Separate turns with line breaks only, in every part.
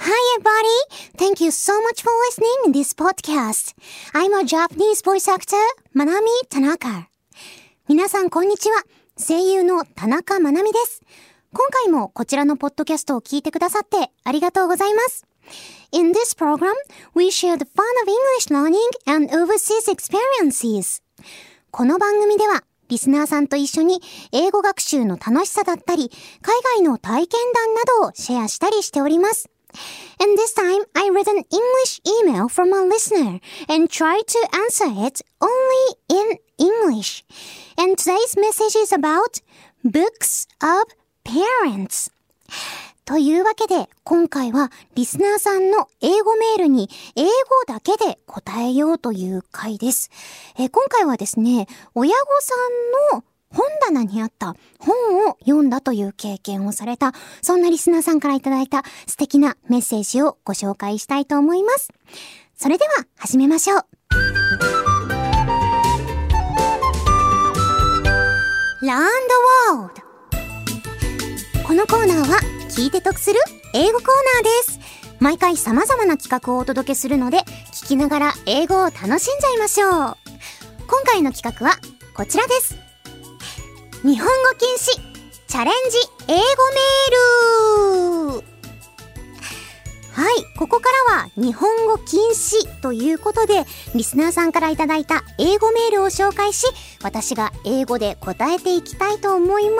Hi everybody! Thank you so much for listening in this podcast. I'm a Japanese voice actor, Manami Tanaka. 皆さんこんにちは。声優の田中まなみです。今回もこちらのポッドキャストを聞いてくださってありがとうございます。In this program, we share the fun of English learning and overseas experiences. この番組ではリスナーさんと一緒に英語学習の楽しさだったり、海外の体験談などをシェアしたりしております。And this time, I read an English email from a listener and tried to answer it only in English. And today's message is about books of parents. というわけで、今回はリスナーさんの英語メールに英語だけで答えようという回です。今回はですね、親御さんの本棚にあった本を読んだという経験をされた、そんなリスナーさんからいただいた素敵なメッセージをご紹介したいと思います。それでは始めましょう。Learn the World。このコーナーは聞いて得する英語コーナーです。毎回様々な企画をお届けするので、聞きながら英語を楽しんじゃいましょう。今回の企画はこちらです。日本語禁止チャレンジ英語メール。はい、ここからは日本語禁止ということで、リスナーさんからいただいた英語メールを紹介し、私が英語で答えていきたいと思います。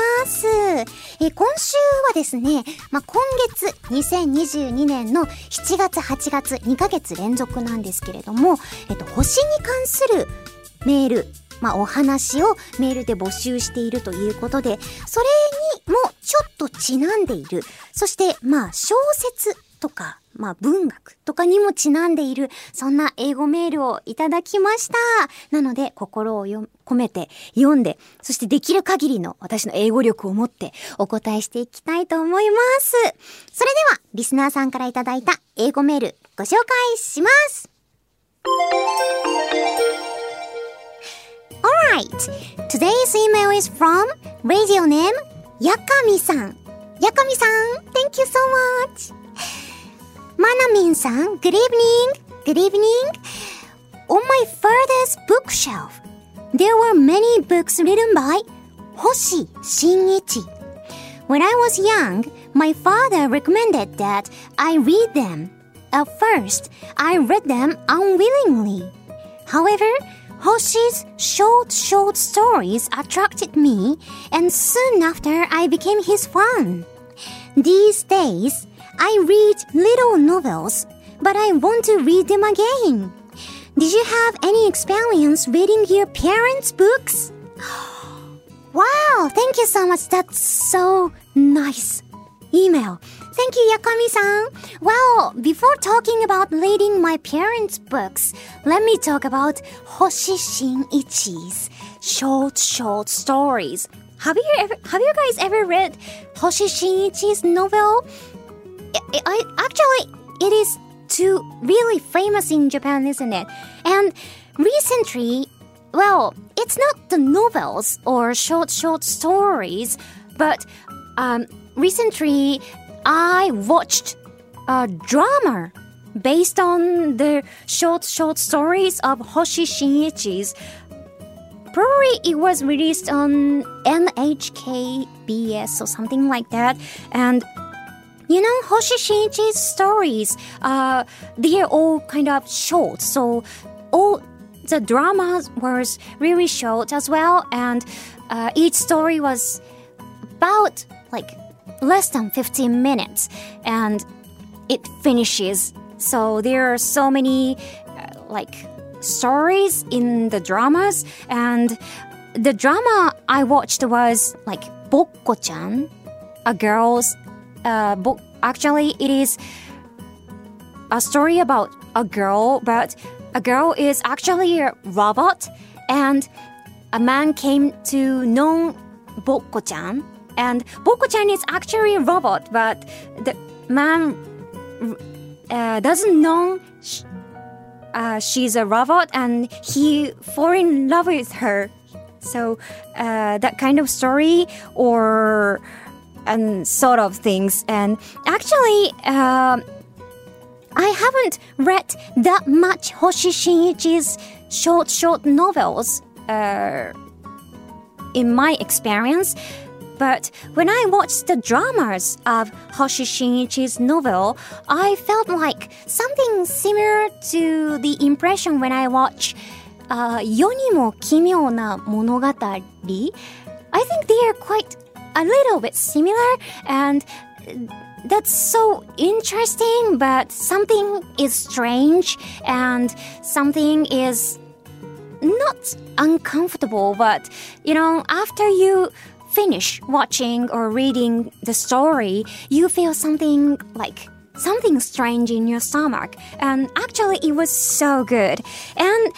今週はですね、今月2022年の7月8月2ヶ月連続なんですけれども、星に関するメール、お話をメールで募集しているということで、それにもちょっとちなんでいる。そして、小説とか、文学とかにもちなんでいる、そんな英語メールをいただきました。なので、心を込めて読んで、そしてできる限りの私の英語力を持ってお答えしていきたいと思います。それでは、リスナーさんからいただいた英語メール、ご紹介します。Alright, today's email is from radio name Yakami-san. Yakami-san, thank you so much. Manamin-san, good evening. Good evening. On my father's bookshelf, there were many books written by Hoshi Shinichi. When I was young, my father recommended that I read them. At first, I read them unwillingly. However,Hoshi's short stories attracted me, and soon after I became his fan. These days, I read little novels, but I want to read them again. Did you have any experience reading your parents' books? Wow, thank you so much. That's so nice. Email.Thank you, Yakami-san. Well, before talking about reading my parents' books, let me talk about Hoshi Shinichi's short stories. Have you guys ever read Hoshi Shinichi's novel? Actually, it is too really famous in Japan, isn't it? And recently, well, it's not the novels or short stories, but recently,I watched a drama based on the short stories of Hoshi Shinichi's. Probably it was released on NHKBS or something like that. And you know, Hoshi Shinichi's stories, they are all kind of short. So all the dramas was really short as well. And each story was about less than 15 minutes and it finishes. So there are so many stories in the dramas, and the drama I watched was Bokko-chan, a girl's book. Actually, it is a story about a girl, but a girl is actually a robot, and a man came to know Bokko-chan.And Bokko-chan is actually a robot, but the man doesn't know she's a robot, and he fall in love with her. So that kind of story and sort of things. And actually, I haven't read that much Hoshi Shinichi's short novels in my experience. But when I watched the dramas of Hoshi Shinichi's novel, I felt like something similar to the impression when I watch 世にも奇妙な物語. I think they are quite a little bit similar, and that's so interesting, but something is strange and something is not uncomfortable. But, you know, after you finish watching or reading the story, you feel something strange in your stomach. And actually, it was so good. And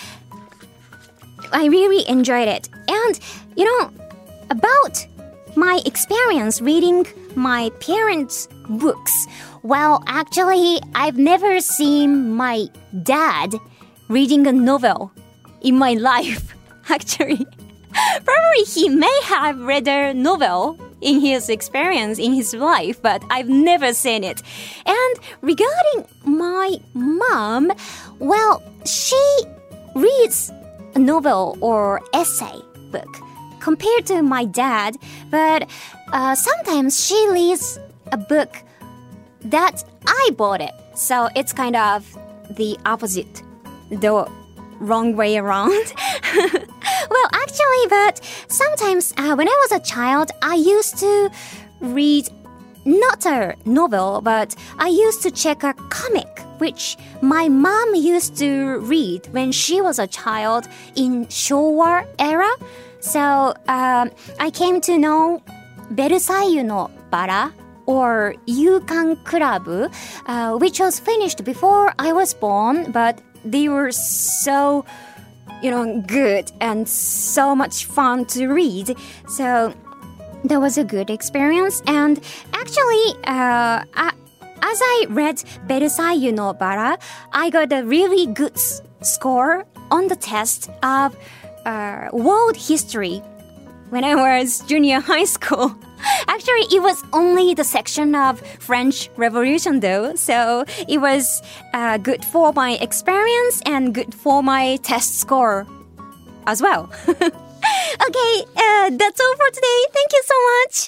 I really enjoyed it. And, you know, about my experience reading my parents' books. Well, actually, I've never seen my dad reading a novel in my life, actually. Probably he may have read a novel in his experience, in his life, but I've never seen it. And regarding my mom, well, she reads a novel or essay book compared to my dad, but sometimes she reads a book that I bought it. So it's kind of the opposite, the wrong way around. Well, actually, but sometimes when I was a child, I used to read not a novel, but I used to check a comic, which my mom used to read when she was a child in Showa era. So I came to know ベルサイユのバラ or 夕刊クラブ, which was finished before I was born, but they were so, you know, good and so much fun to read. So that was a good experience. And actually, as I read ベルサイユのバラ, I got a really good score on the test of world history when I was junior high school. Actually, it was only the section of French Revolution though, so it was good for my experience and good for my test score as well. Okay, that's all for today. Thank you so much.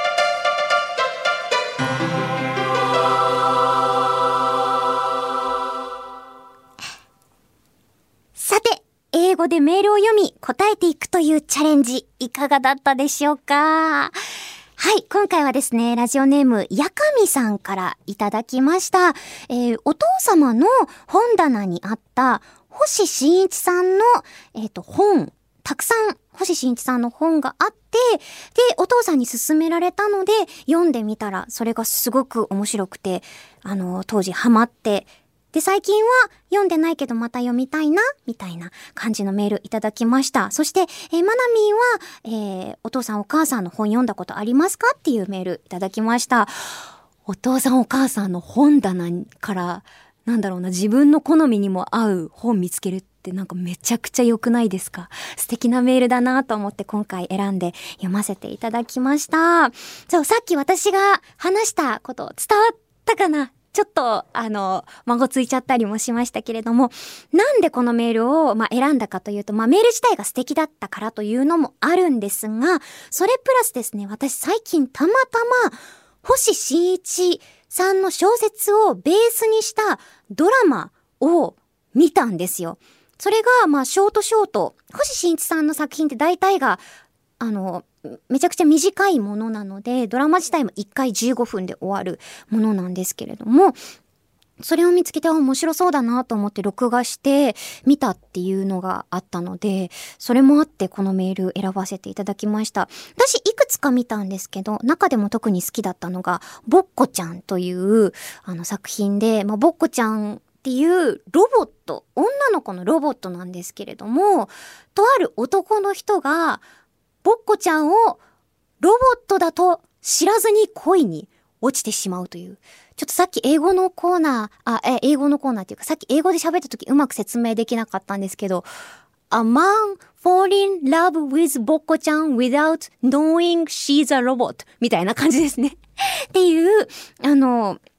さて、英語でメールを読み答えていくというチャレンジいかがだったでしょうか。はい、今回はですね、ラジオネームやかみさんからいただきました。お父様の本棚にあった星新一さんの本、たくさん星新一さんの本があって、でお父さんに勧められたので読んでみたら、それがすごく面白くて、当時ハマって。で、最近は読んでないけどまた読みたいな、みたいな感じのメールいただきました。そして、マナミンは、お父さんお母さんの本読んだことありますかっていうメールいただきました。お父さんお母さんの本棚から、なんだろうな、自分の好みにも合う本見つけるってなんかめちゃくちゃ良くないですか？素敵なメールだなと思って今回選んで読ませていただきました。そう、さっき私が話したこと伝わったかな？ちょっと、孫ついちゃったりもしましたけれども、なんでこのメールを、選んだかというと、メール自体が素敵だったからというのもあるんですが、それプラスですね、私最近たまたま、星新一さんの小説をベースにしたドラマを見たんですよ。それが、ショート、星新一さんの作品って大体が、めちゃくちゃ短いものなので、ドラマ自体も1回15分で終わるものなんですけれども、それを見つけて面白そうだなと思って録画して見たっていうのがあったので、それもあってこのメール選ばせていただきました。私いくつか見たんですけど、中でも特に好きだったのがボッコちゃんという作品で、ボッコちゃんっていうロボット、女の子のロボットなんですけれども、とある男の人がボッコちゃんをロボットだと知らずに恋に落ちてしまうという。ちょっとさっき英語のコーナーっていうか、さっき英語で喋った時うまく説明できなかったんですけど、A man fall in love with ボッコちゃん without knowing she's a robot みたいな感じですね。っていう、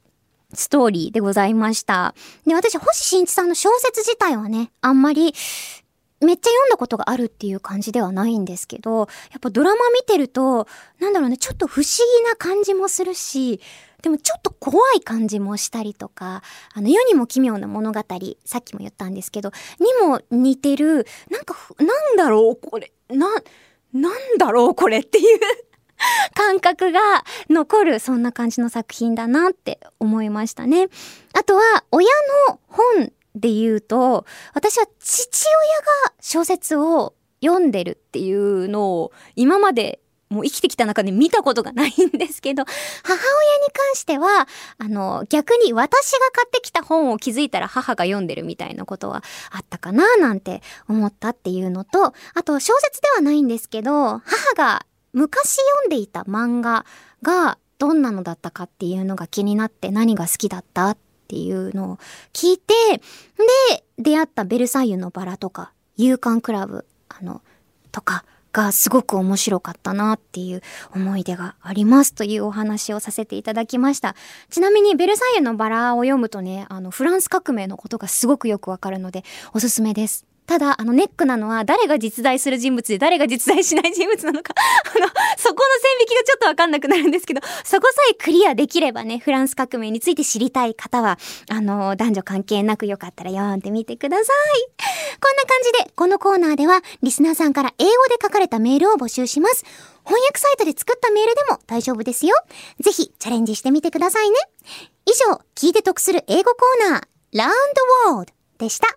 ストーリーでございました。で、私、星新一さんの小説自体はね、あんまりめっちゃ読んだことがあるっていう感じではないんですけど、やっぱドラマ見てると、なんだろうね、ちょっと不思議な感じもするし、でもちょっと怖い感じもしたりとか、世にも奇妙な物語、さっきも言ったんですけど、にも似てる、なんだろうこれ、なんだろうこれっていう感覚が残る、そんな感じの作品だなって思いましたね。あとは、親の本で言うと、私は父親が小説を読んでるっていうのを今までもう生きてきた中で見たことがないんですけど、母親に関しては逆に私が買ってきた本を気づいたら母が読んでるみたいなことはあったかななんて思ったっていうのと、あと小説ではないんですけど、母が昔読んでいた漫画がどんなのだったかっていうのが気になって、何が好きだったっていうのを聞いて、で出会ったベルサイユのバラとか夕刊クラブとかがすごく面白かったなっていう思い出がありますというお話をさせていただきました。ちなみにベルサイユのバラを読むとね、フランス革命のことがすごくよくわかるのでおすすめです。ただネックなのは誰が実在する人物で誰が実在しない人物なのかそこの線引きがちょっとわかんなくなるんですけど、そこさえクリアできればね、フランス革命について知りたい方は男女関係なくよかったら読んでみてください。こんな感じでこのコーナーではリスナーさんから英語で書かれたメールを募集します。翻訳サイトで作ったメールでも大丈夫ですよ。ぜひチャレンジしてみてくださいね。以上、聞いて得する英語コーナー Learn the World でした。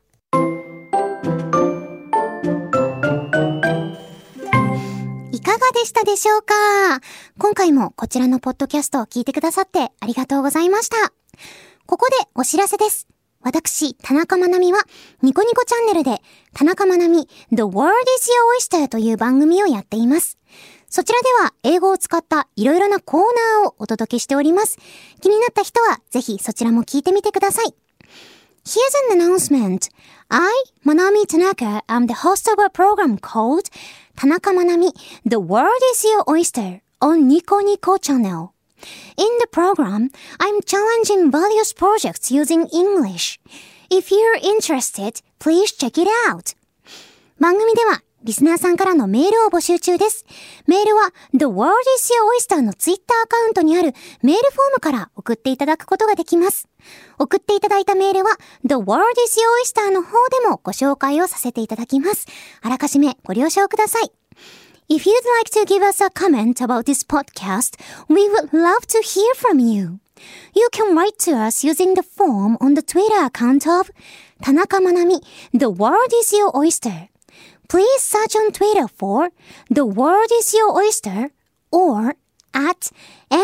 いかがでしたでしょうか？今回もこちらのポッドキャストを聞いてくださってありがとうございました。ここでお知らせです。私、田中まなみはニコニコチャンネルで田中まなみ The World is Your Oyster という番組をやっています。そちらでは英語を使ったいろいろなコーナーをお届けしております。気になった人はぜひそちらも聞いてみてください。Here's an announcement. I, Manami Tanaka, am the host of a program called Tanaka Manami, The World is Your Oyster on Nico Nico channel. In the program, I'm challenging various projects using English. If you're interested, please check it out. 番組ではリスナーさんからのメールを募集中です。メールは The World is Your Oyster のツイッターアカウントにあるメールフォームから送っていただくことができます。送っていただいたメールは The World is Your Oyster の方でもご紹介をさせていただきます。あらかじめご了承ください。If you'd like to give us a comment about this podcast, we would love to hear from you. You can write to us using the form on the Twitter account of Tanaka Manami, The World is Your Oyster.Please search on Twitter for The World is Your Oyster or at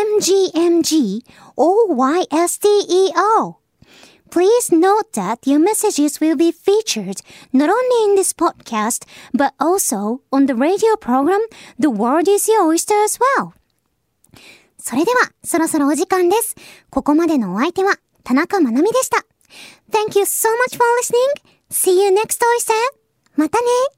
MGMGOYSTER. Please note that your messages will be featured not only in this podcast but also on the radio program The World is Your Oyster as well. それではそろそろお時間です。ここまでのお相手は田中まなみでした。Thank you so much for listening. See you next Oyster. またね。